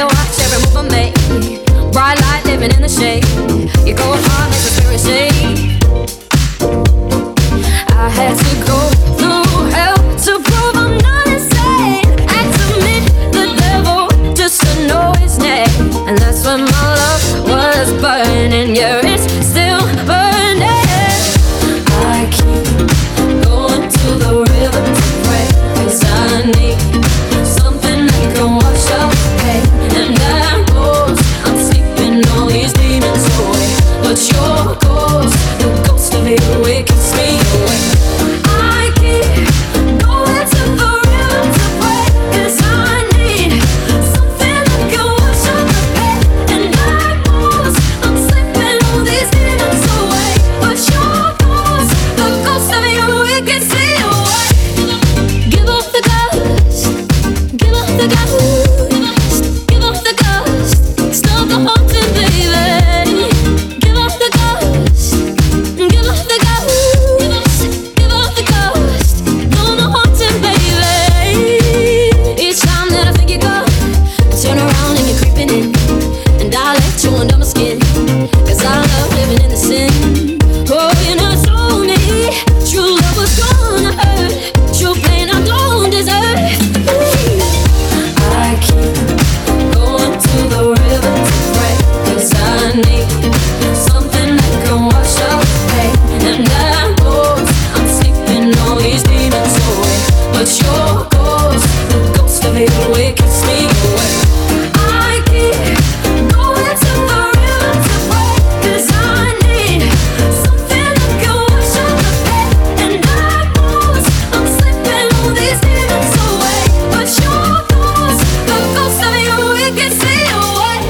watch every move I make. Bright light living in the shade. You go hard, make the spirit shake. I had to go through hell to prove I'm not insane. Had to meet the devil just to know his name. And that's when my love was burning. Yeah, it's still burning. I keep going to the river to pray, 'cause I need something that can wash out the pain. And that goes, I'm sleeping all these demons away. But your ghost, the ghost of you, it keeps me awake. I keep going to the river to pray, 'cause I need something that can wash out the pain. And that goes, I'm sleeping all these demons away. But your ghost, the ghost of you, it keeps me awake. Give up the ghost, give up the ghost, give up the ghost, stop the haunting, baby. Give up the ghost, give up the ghost, give up the ghost, don't the haunting, baby. Each time that I think you're gone, I turn around and you're creeping in, and I let you under my skin, 'cause I love living in the sin. Oh, you never told me true love was gonna hurt, true pain I don't deserve. I keep going to the river to pray, 'cause I need something that can wash out the pain. And that goes, I'm sleeping all these demons away. But your ghost, the ghost of you, it keeps me awake. I keep going to the river to pray, 'cause I need something that can wash out the pain. And that goes, I'm sleeping all these demons away. But your ghost, the ghost of you, it keeps me awake.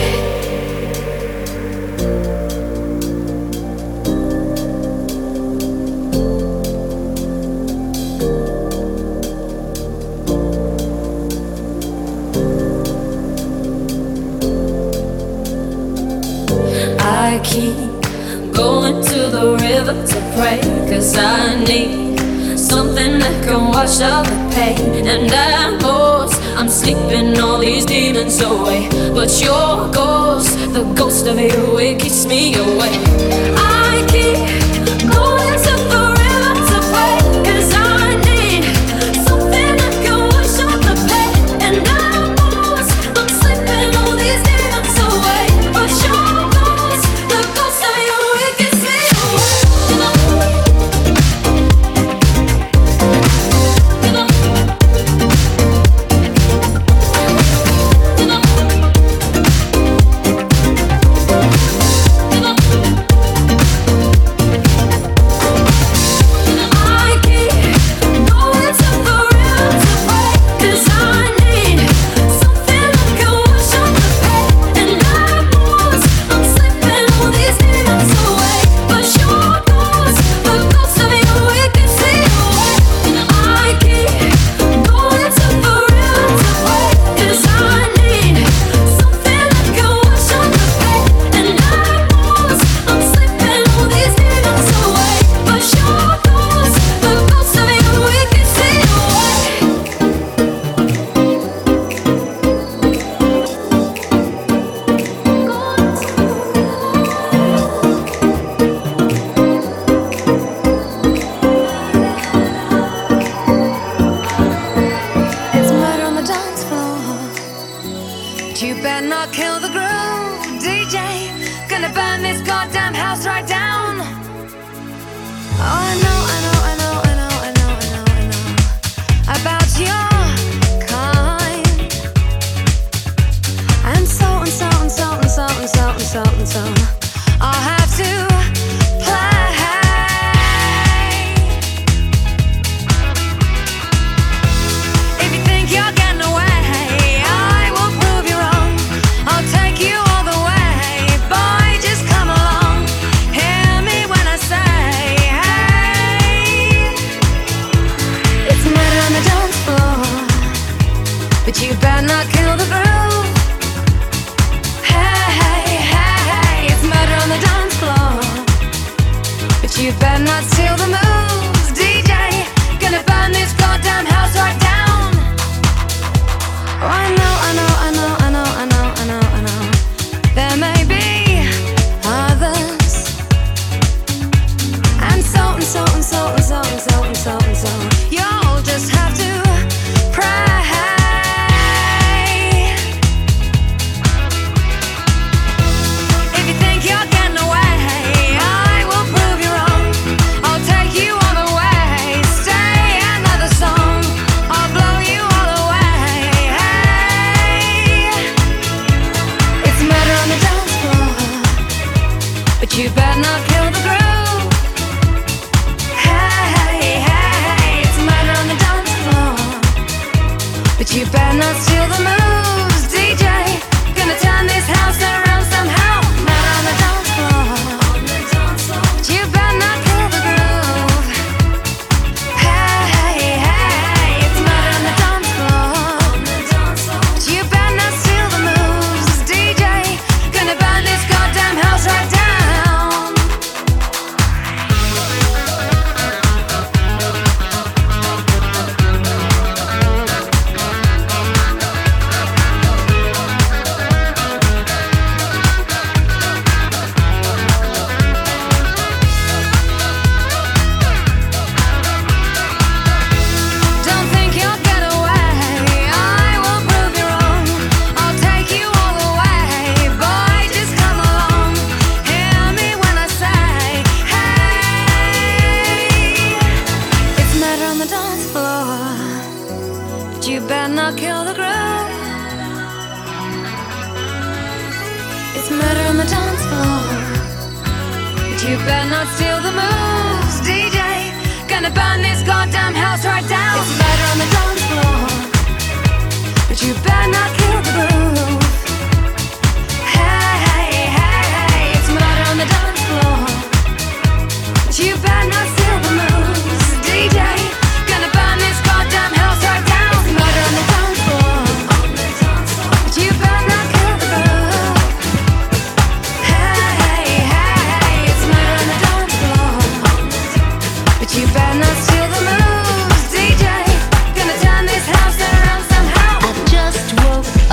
I keep going to the river to pray, 'cause I need something that can wash out the pain. And that goes, I'm sleeping all these demons away. But your ghost, the ghost of you, it keeps me awake. I keep going to the river to pray, 'cause I need something that can wash out the pain. And that goes, I'm sleeping all these demons away. But your ghost, the ghost of you, it keeps me awake. You better not kill the groove. Hey, hey, hey, hey, it's you better not kill the groove. Hey, hey, hey, it's murder on the dance floor, but you better not steal the moves, DJ. Gonna turn this house around somehow. Murder on the dance floor, but you better not kill the groove. Hey, hey, hey, it's murder on the dance floor, but you better not steal the moves, DJ. Gonna burn this goddamn house right down. Don't think you'll get away, I will prove you wrong. I'll take you all the way, boy, just come along. Hear me when I say, hey, it's murder on the dance floor, but you better not kill the groove. It's murder on the dance floor, but you better not steal the moves, DJ. Gonna burn this goddamn house right down. It's murder on the dance floor, but you better not kill the groove. Hey, hey, hey, hey, it's murder on the dance floor, but you better not steal the moves, DJ. Gonna burn this goddamn house right down. It's murder on the dance floor, but you better not kill the groove. Hey, hey, hey, it's murder on the dance floor, but you better not steal the moves, DJ. Gonna turn this house around somehow. I just woke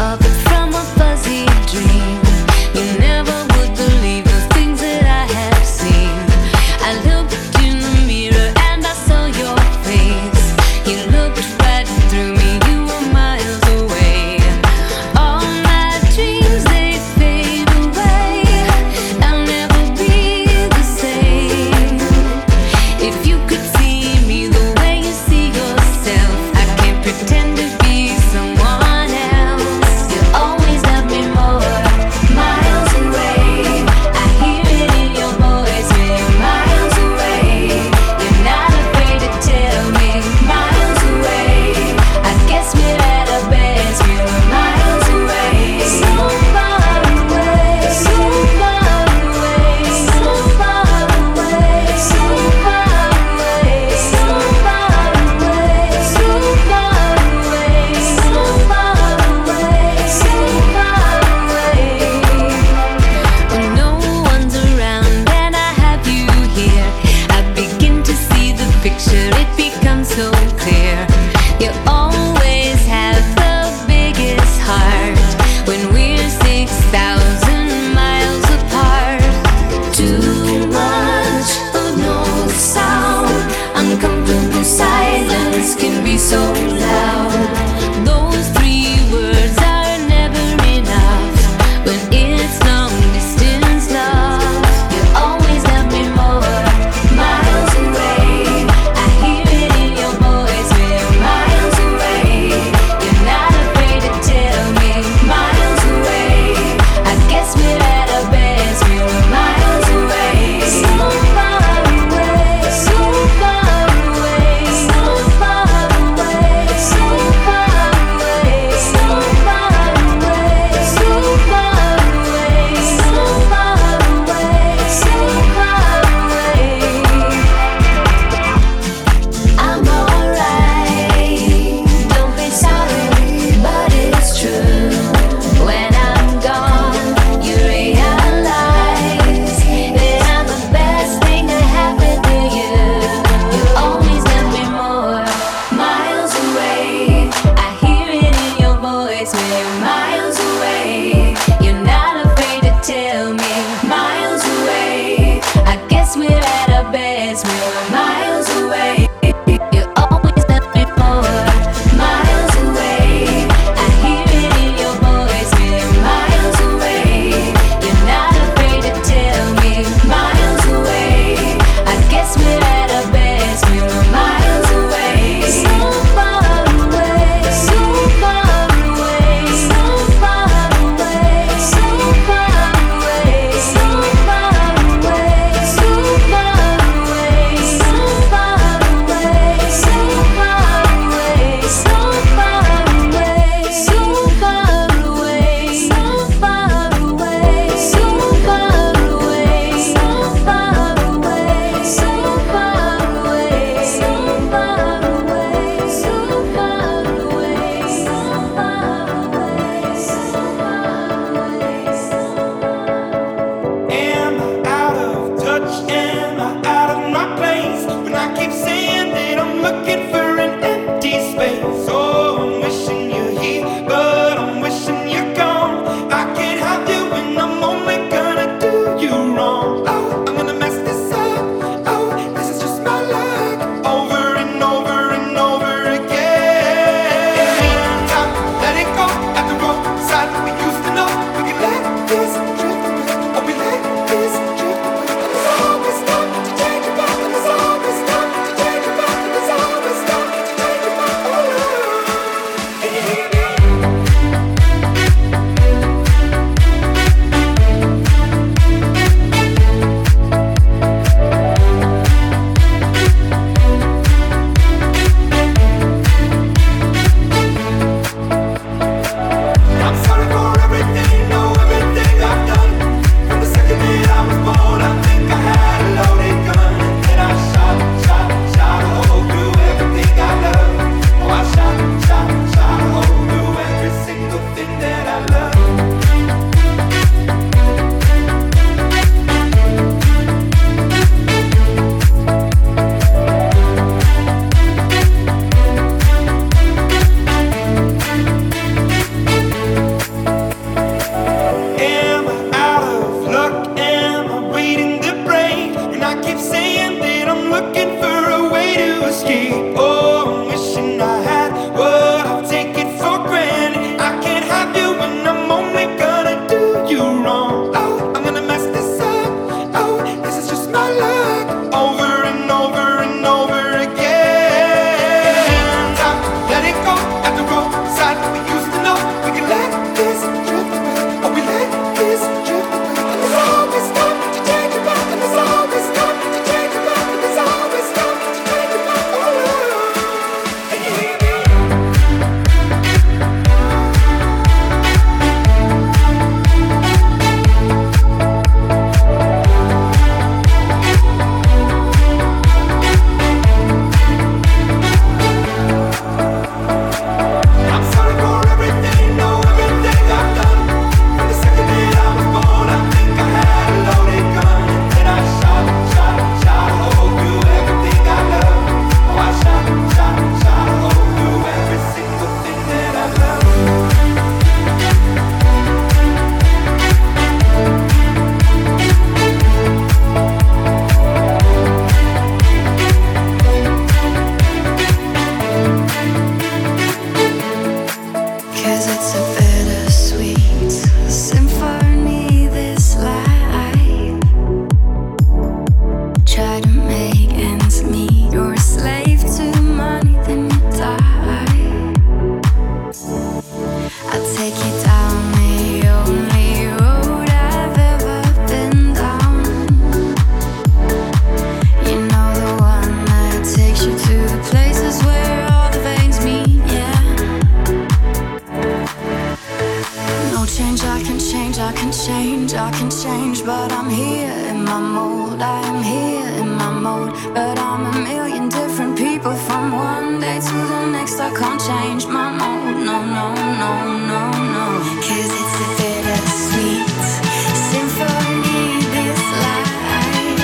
I can change, but I'm here in my mold. I am here in my mode, but I'm a million different people from one day to the next. I can't change my mode, no, no, no, no, no. 'Cause it's a bittersweet symphony, this life.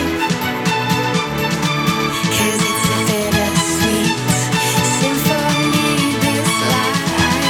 'Cause it's a bittersweet symphony, this life.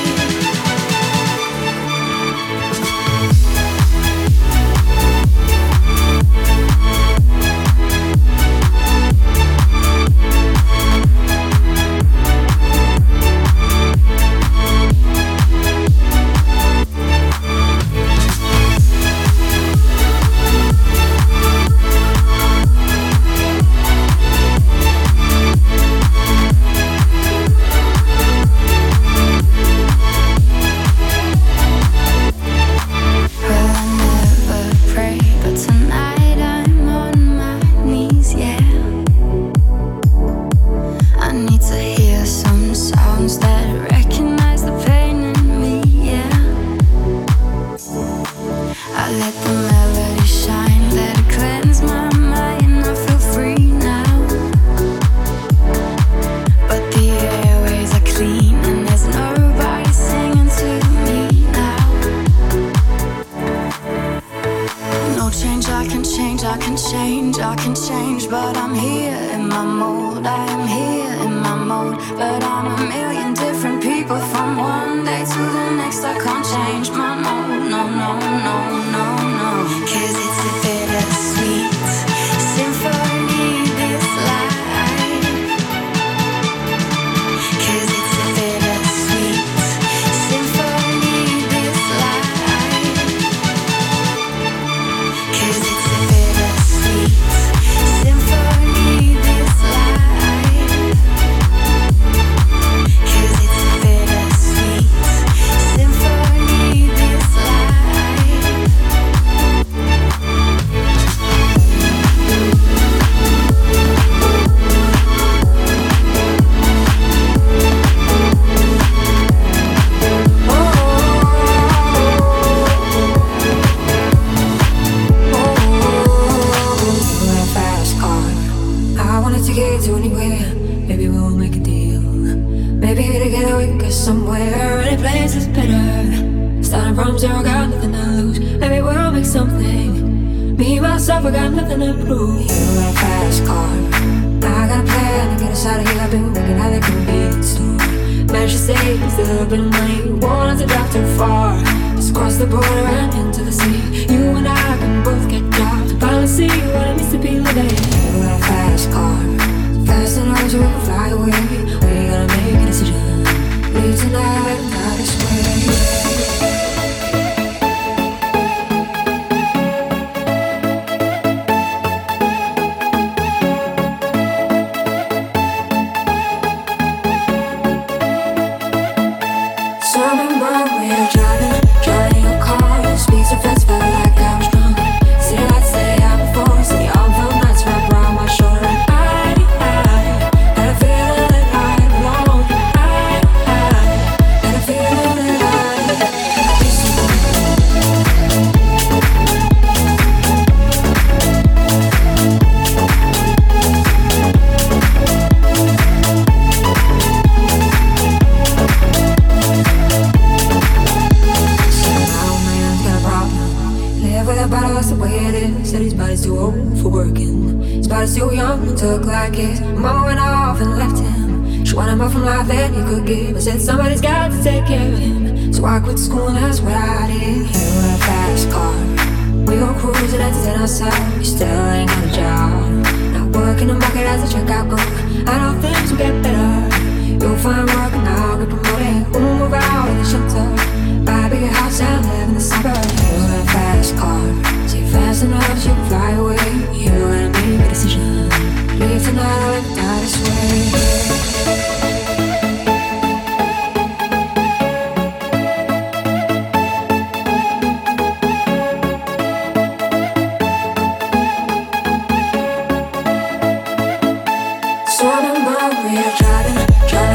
Said somebody's got to take care of him, so I quit school and that's what I did. You got a fast car, we go cruising at 10 outside. You still ain't got a job, not working the market as a checkout girl. I know things will get better. You'll find work and I'll get promoted. We'll move out of the shelter, buy a bigger house and live in the suburbs. You got a fast car, so you're fast enough so you can fly away. You gotta make a decision, leave tonight or live die this way.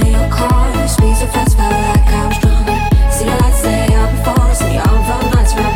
Speed so fast, felt like I was drunk. See the lights stay out before us, and the all felt nights.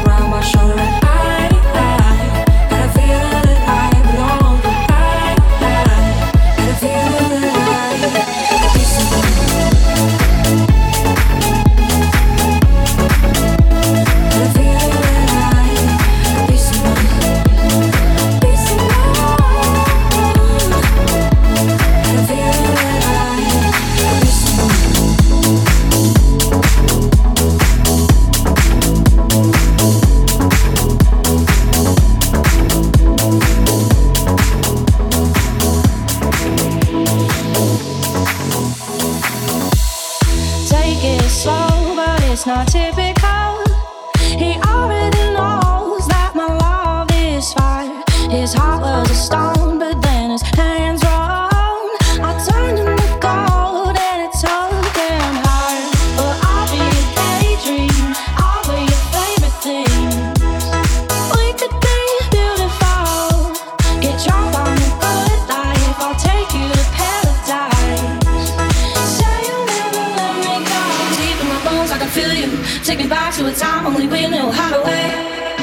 not typical. He already knows that my love is fire. His heart was a stone, but then his hands were on. I turned him to gold and it took him hard. But I'll be a daydream, I'll be your favorite thing. We could be beautiful, get drunk on the good life. I'll take you to paradise. Say you'll never let me go. Deep in my bones I can feel you. Take me back to a time only we knew how to wait.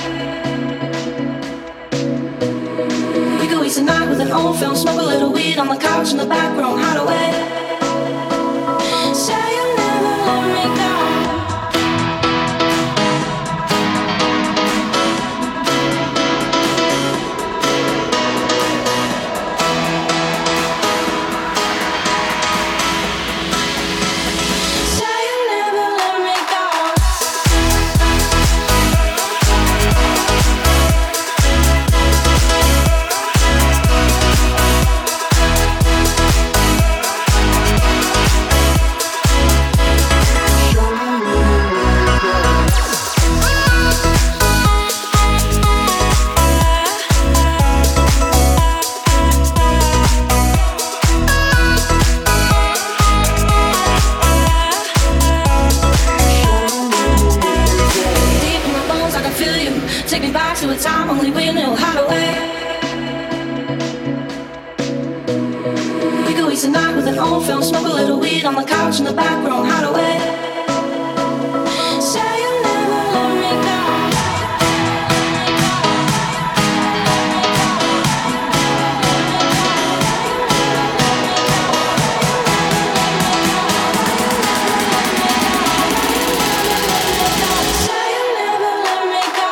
We could waste a night with an old film, smoke a little weed on the couch in the back room, how to wait. Say you'll never let me go. Tonight with an old film, smoke a little weed on the couch in the back room, hide away. Say you'll never let me go. Say you'll never let me go.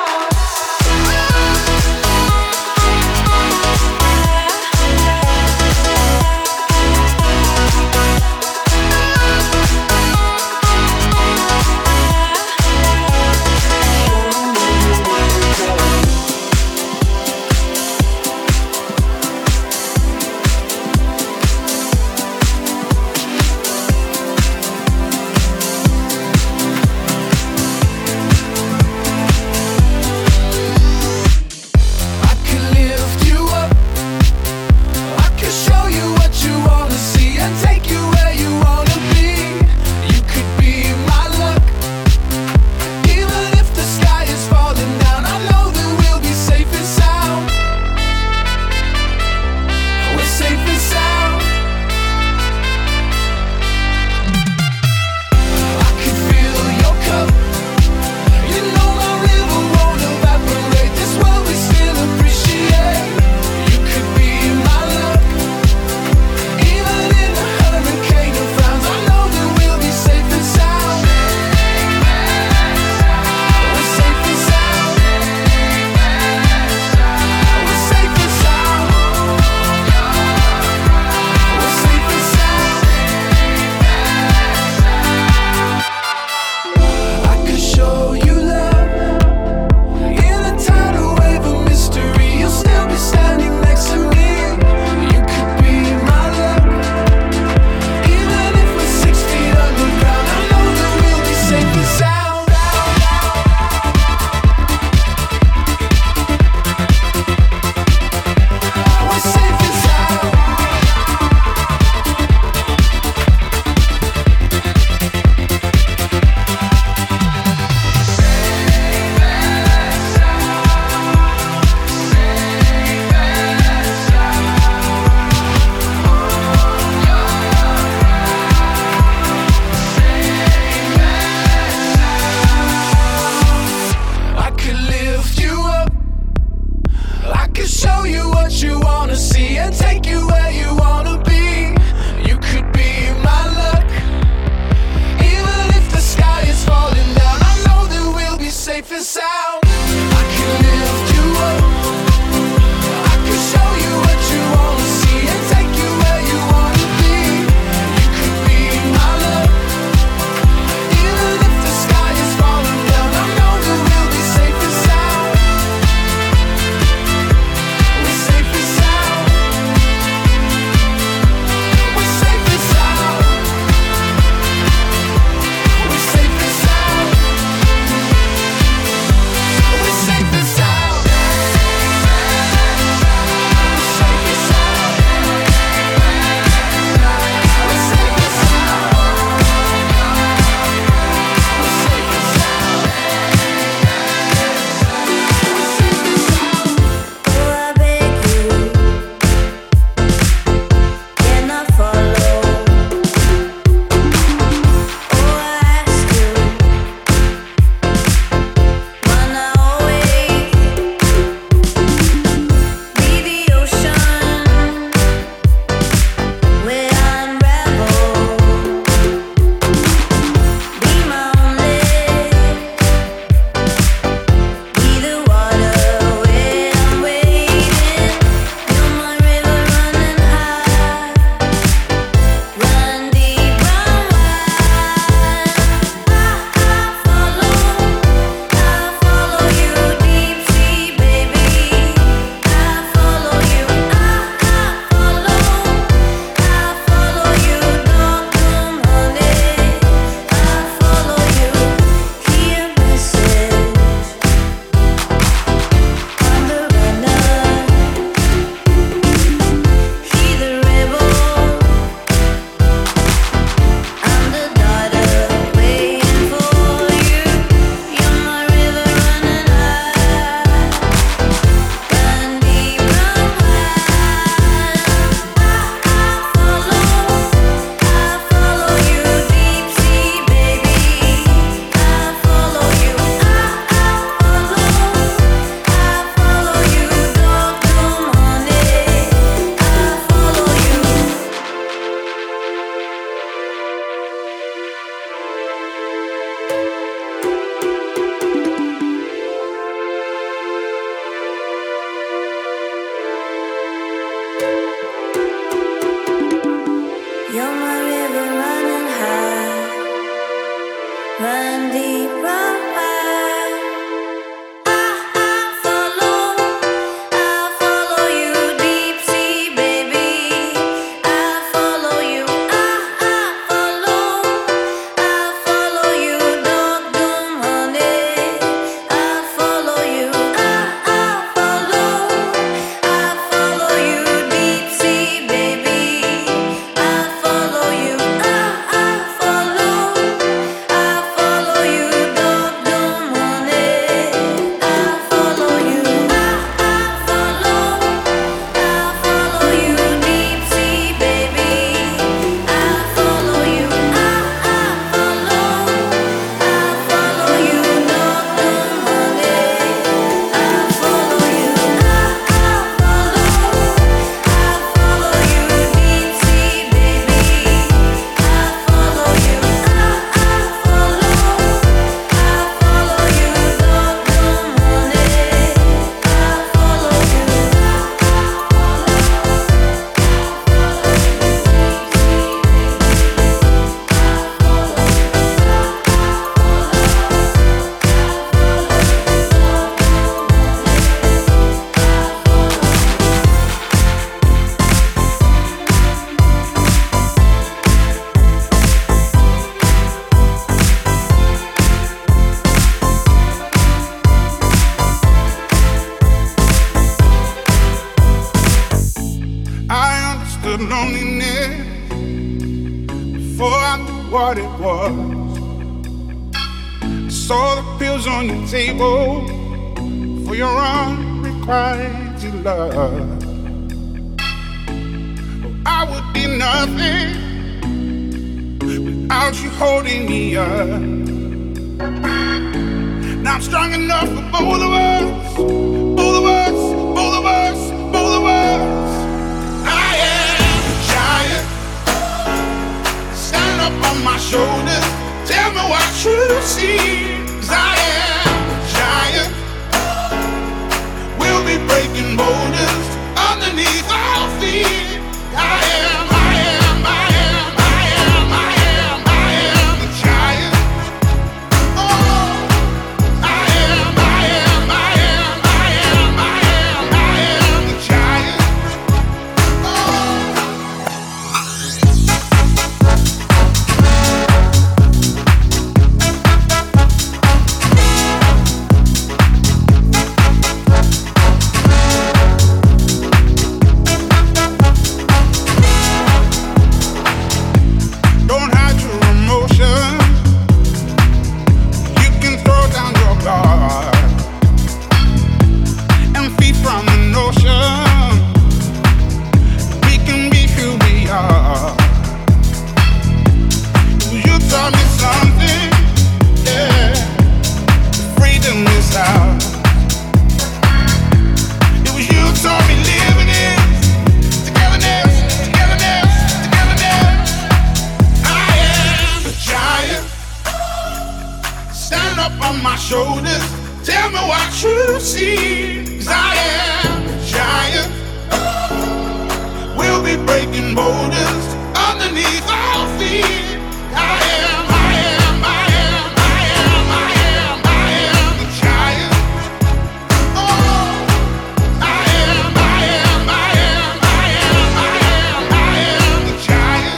what it was. Saw the pills on your table for your unrequited love. I would be nothing without you holding me up. Now I'm strong enough for both of us, both of us, both of us, both of us. I am a giant. Stand up on my shoulders. Tell me what you see. 'Cause I am a giant. We'll be breaking boulders underneath our feet. I am, I am, I am, I am, I am, I am the giant. Oh, I am, I am, I am, I am, I am, I am the giant. Don't hide your emotion. You can throw down your guard and feed from the notion. We can be who we are. You taught me something, yeah. Freedom is ours. It was you taught me living it. Togetherness, togetherness, togetherness. I am a giant. Stand up on my shoulders. Tell me what you see. 'Cause I am a giant. We'll be breaking boulders underneath our feet. I am, I am, I am, I am, I am, I am the giant. Oh, I am, I am, I am, I am, I am, I am the giant.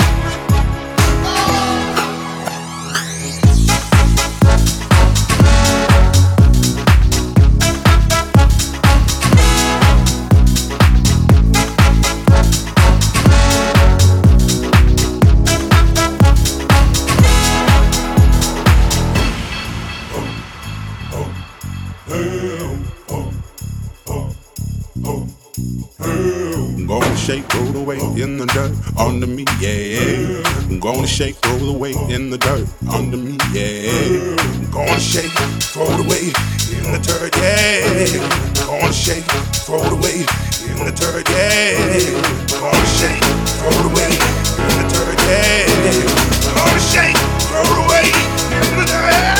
I'm gonna shake, roll the weight in the dirt under me, yeah. I'm gonna shake, roll the weight in the dirt under me, yeah. I'm gonna shake, throw the weight in the dirt, yeah. I'm gonna shake, throw the weight in the dirt, yeah. I'm gonna shake, throw the weight in the dirt, yeah. I'm gonna shake, throw the weight in the dirt.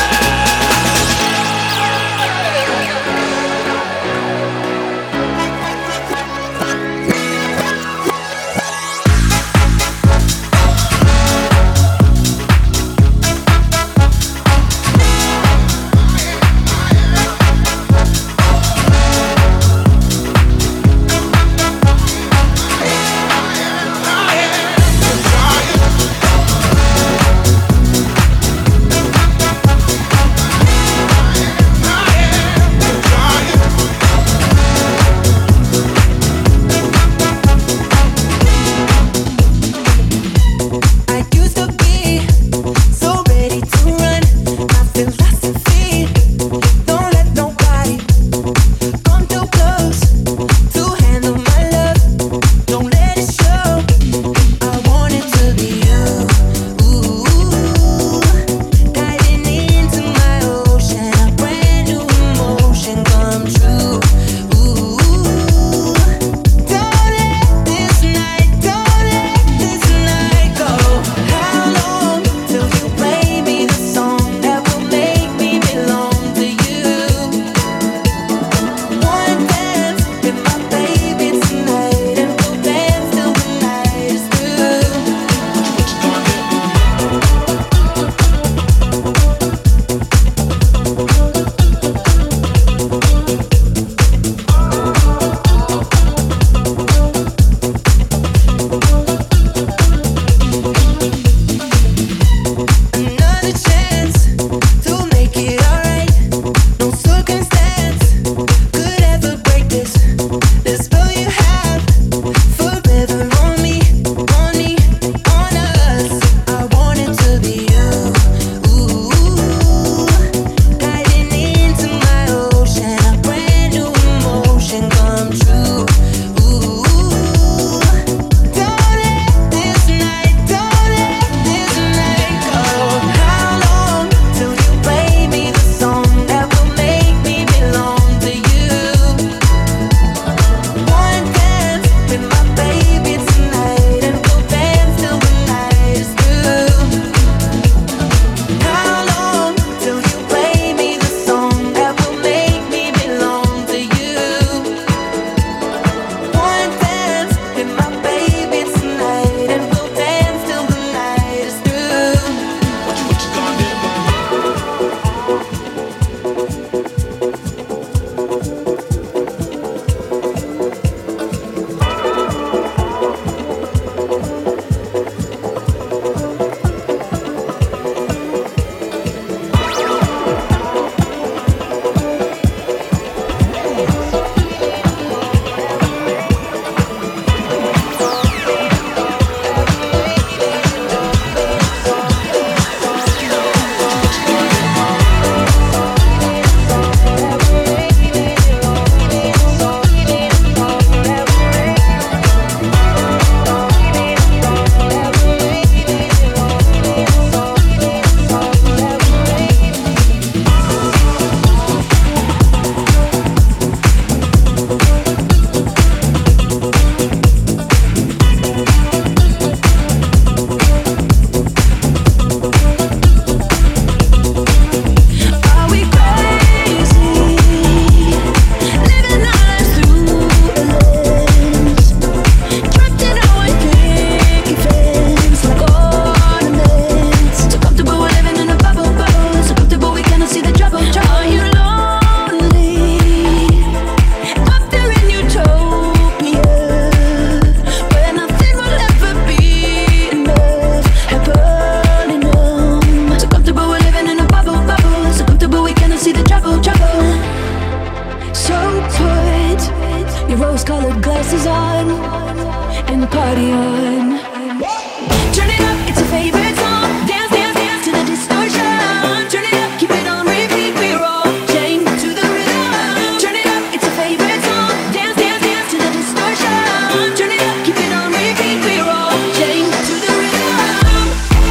it. Your rose-colored glasses on, and the party on. Turn it up, it's a favorite song. Dance, dance, dance to the distortion. Turn it up, keep it on repeat. We're all chained to the rhythm. Turn it up, it's a favorite song. Dance, dance, dance to the distortion. Turn it up, keep it on repeat. We're all chained to the rhythm.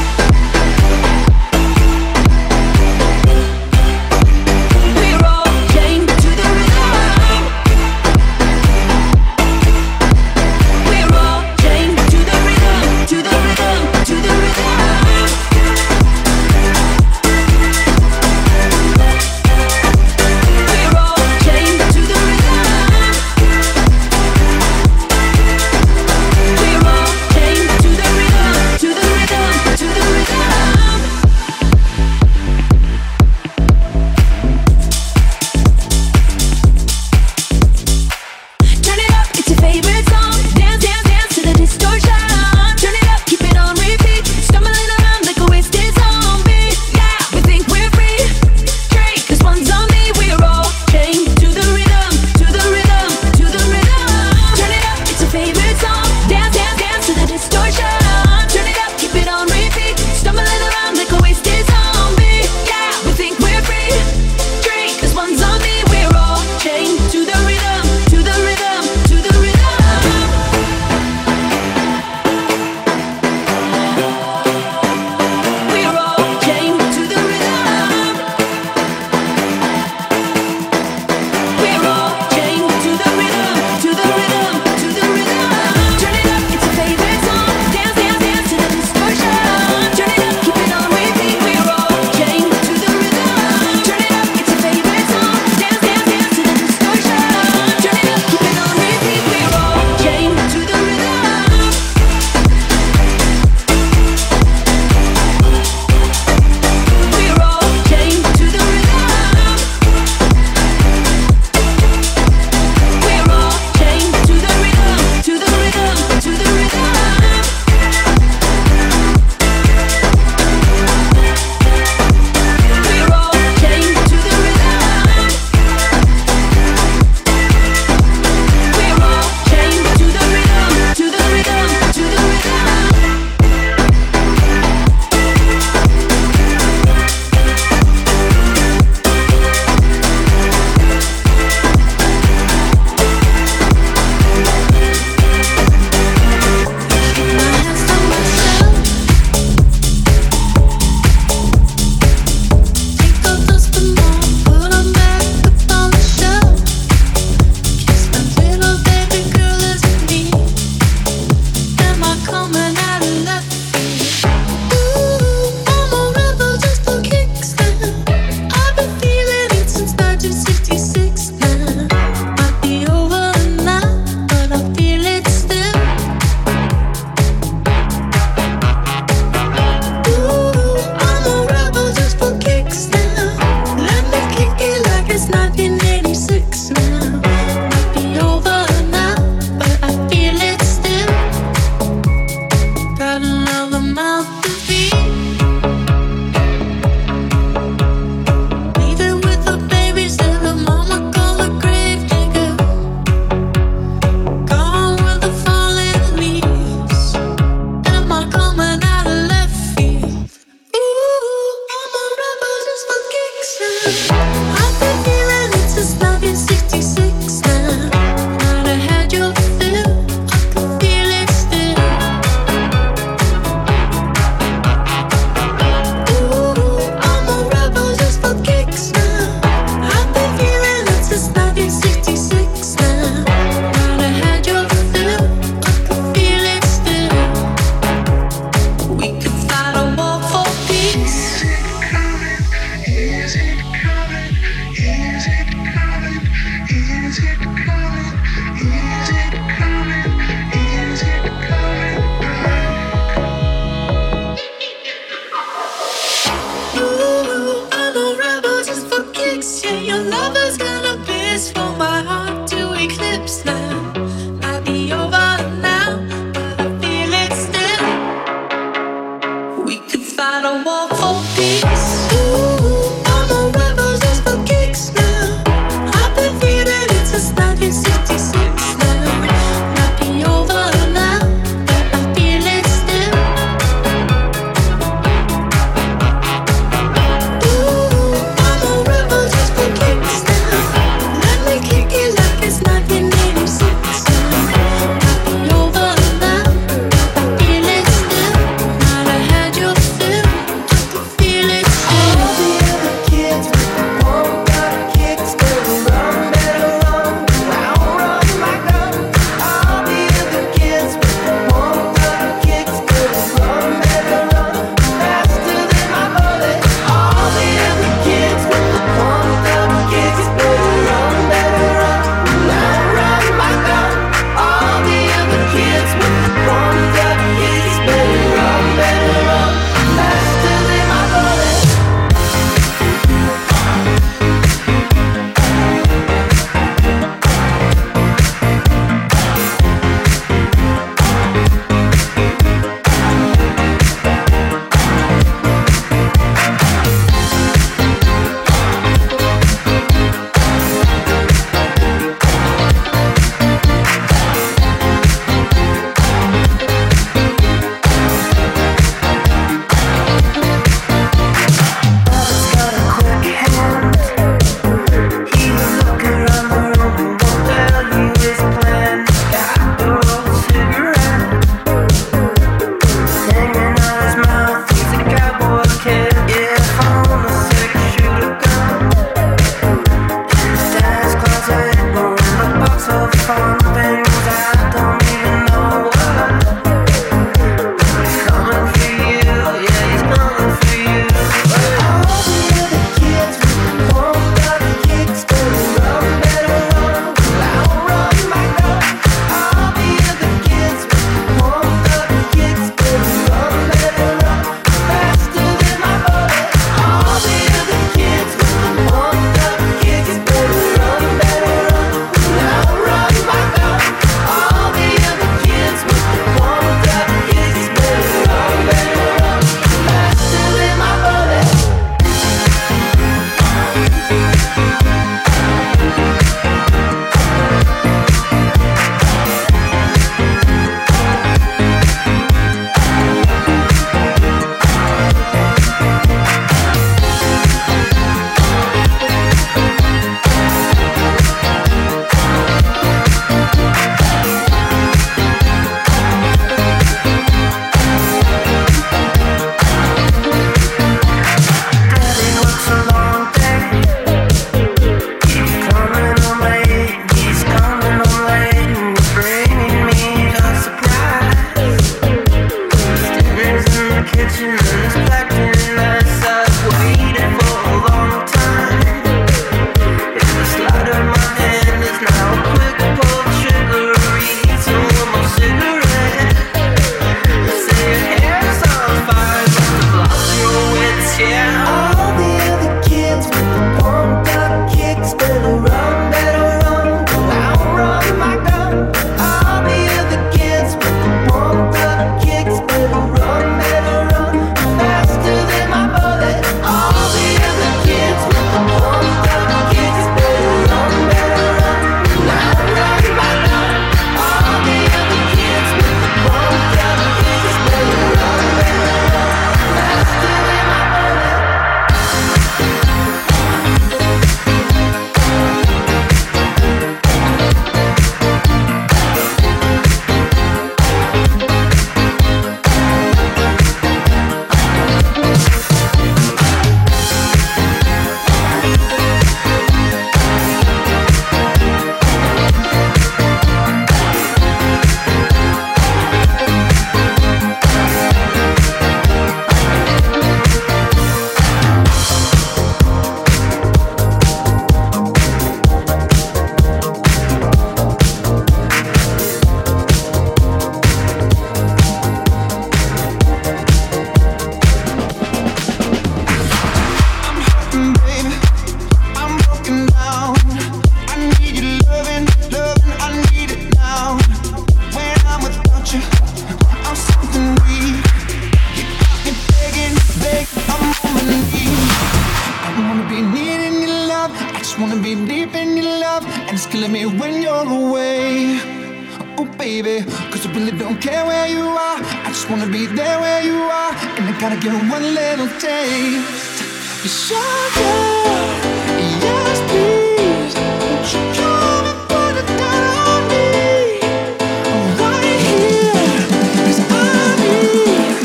We're all chained to the rhythm. We're all chained to the rhythm, to the rhythm. me when you're away. Oh baby, cause I really don't care where you are. I just wanna be there where you are. And I gotta get one little taste. Sugar, yes please. Won't you come and put it down on me? I'm right here, cause I need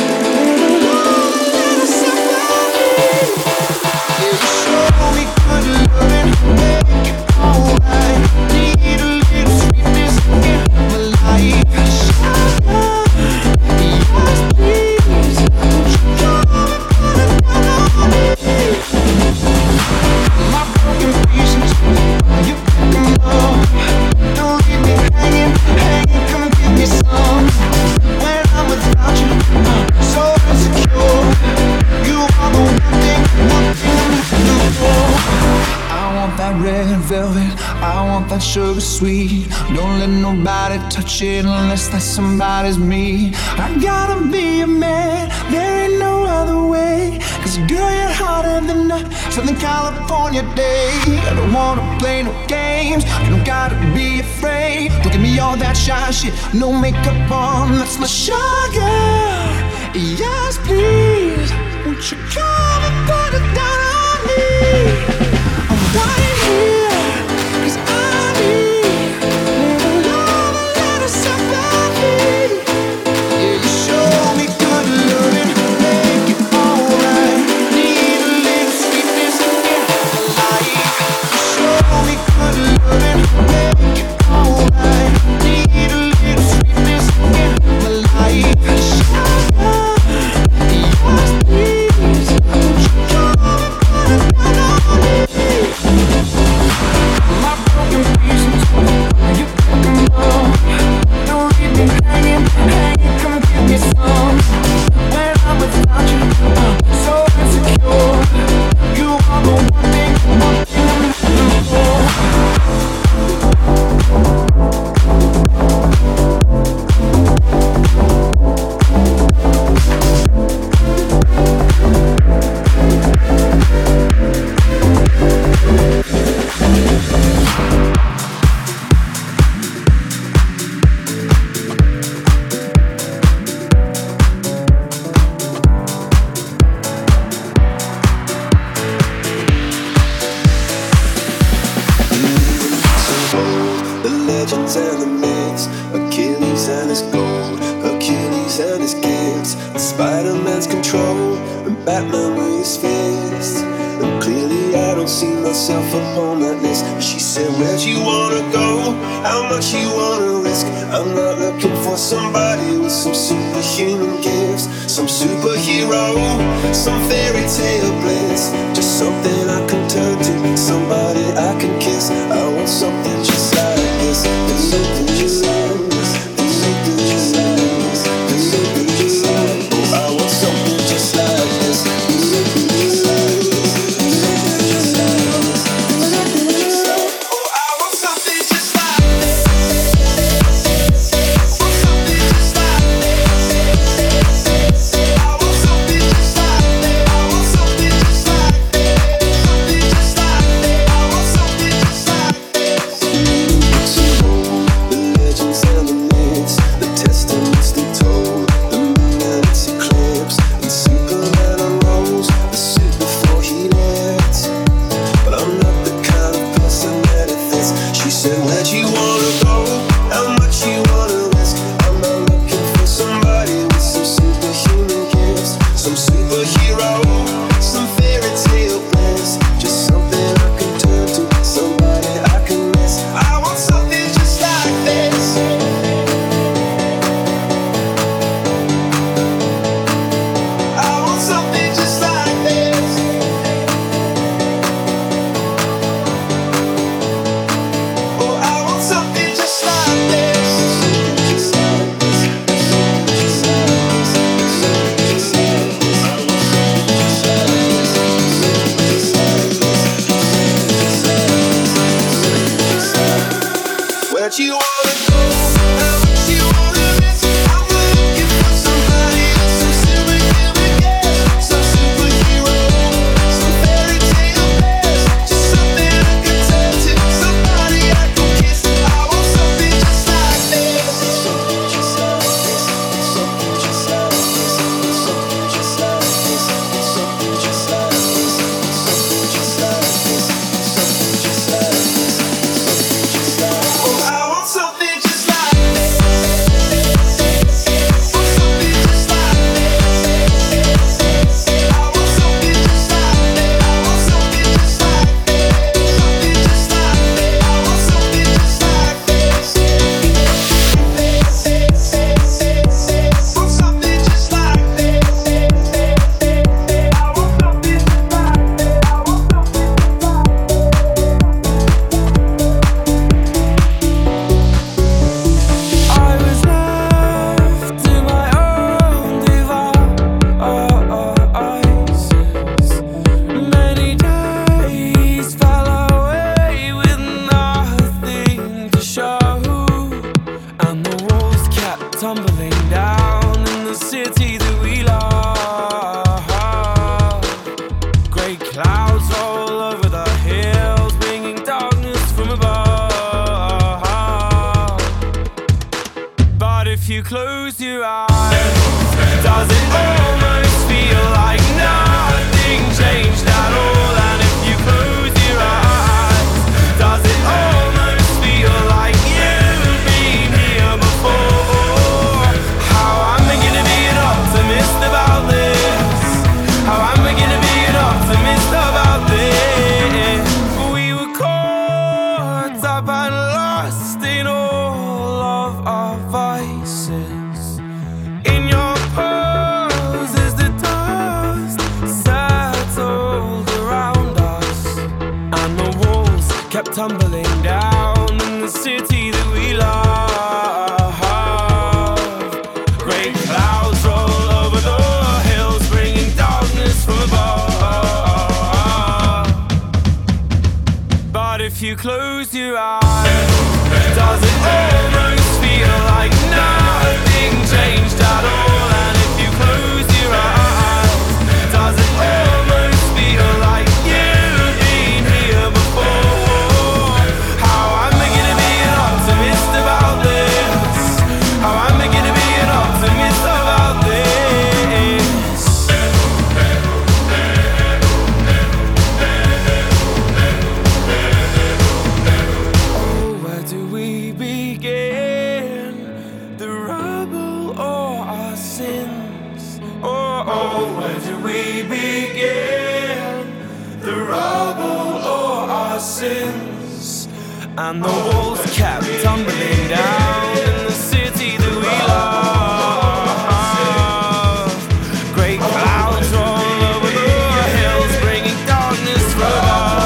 a sympathy. Yeah, you show me good loving, make it alright. Need a little sweetness in my life. Sugar, yes please. Won't you come and put it down on me? My broken pieces, you pick them up. Don't leave me hanging, come give me some. When I'm without you, so insecure. You are the one thing I'm looking for. I want that red velvet, I want that sugar sweet. Don't let nobody touch it unless that somebody's me. I gotta be a man, there ain't no other way. Cause girl, you're hotter than a Southern California day. I don't wanna play no games, you don't gotta be afraid. Don't give me all that shy shit, no makeup on, that's my sugar. Yes please, won't you come and put it down on me? I'm right here, cause I need a love, a little sympathy. Yeah, you show me good loving, make it alright. Need a little sweetness in my life. You show me good loving, make it alright. Need a little sweetness in my life. Sugar, yes please. Won't you come and put it down on me? My broken pieces, you pick them up. Don't leave me hanging, come give me some. When I'm without you, so insecure. You are the one thing I'm looking for. The legends and the myths, Achilles and his gold, Hercules and his gifts, Spider-Man's control, and Batman with his fists. And clearly I don't see myself upon that list. She said, where'd you wanna go? How much you wanna risk? I'm not looking for somebody with some superhuman gifts, some superhero, some fairy tale bliss. Just something I can turn to, somebody I can kiss. I want something just like this, something just like this, something just like this, something just like this. I want something just like this, something just like this, something just like this, something just like this. Oh, I want something just like this. I want something just like this. I want something just like this. I want something just like this. Something just like this. I want something just like this. The legends and the myths, the testaments they told, the moon and its eclipse, and Superman unrolls the suit before he left. But I'm not the kind of person that it fits. She said, where'd you wanna go? How much you wanna risk? I'm not looking for somebody with some superhuman gifts, some superhero, some fairy tale bliss. Just something I can turn to, somebody I can miss. I want something just like this. I want something just like this. Oh, I want something just like this. Just like this. Just like this. Just like this. I want something just like this. Just like this. Just like this. Where'd you wanna go? How much you wanna miss? I'm looking for somebody with some superhuman gifts, some superhero, some fairy tale bliss. Just something I can turn to, somebody I can kiss. But if you close your eyes, does it almost feel like nothing changed at all? And if you close your eyes, does it almost feel like you've been here before? How am I gonna be an optimist about this? How am I gonna be an optimist about this? We were caught up and lost in all of our vices. In your pose as the dust settled around us, and the walls kept tumbling down in the city that we love. Great clouds roll over the hills, bringing darkness from above. But if you close your eyes, does it almost feel like nothing changed at all? And if you close your eyes, does it almost feel like you've been here before? How am I gonna be an optimist about this? How am I gonna be an optimist about this? Oh, where do we begin? The rubble or our sins? Oh, where do we begin? The rubble or our sins? And the walls kept tumbling down in the city that we love. Great clouds roll over the hills, bringing darkness from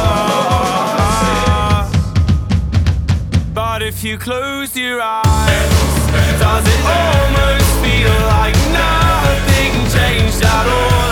above. But if you close your eyes, does it almost feel like nothing changed at all?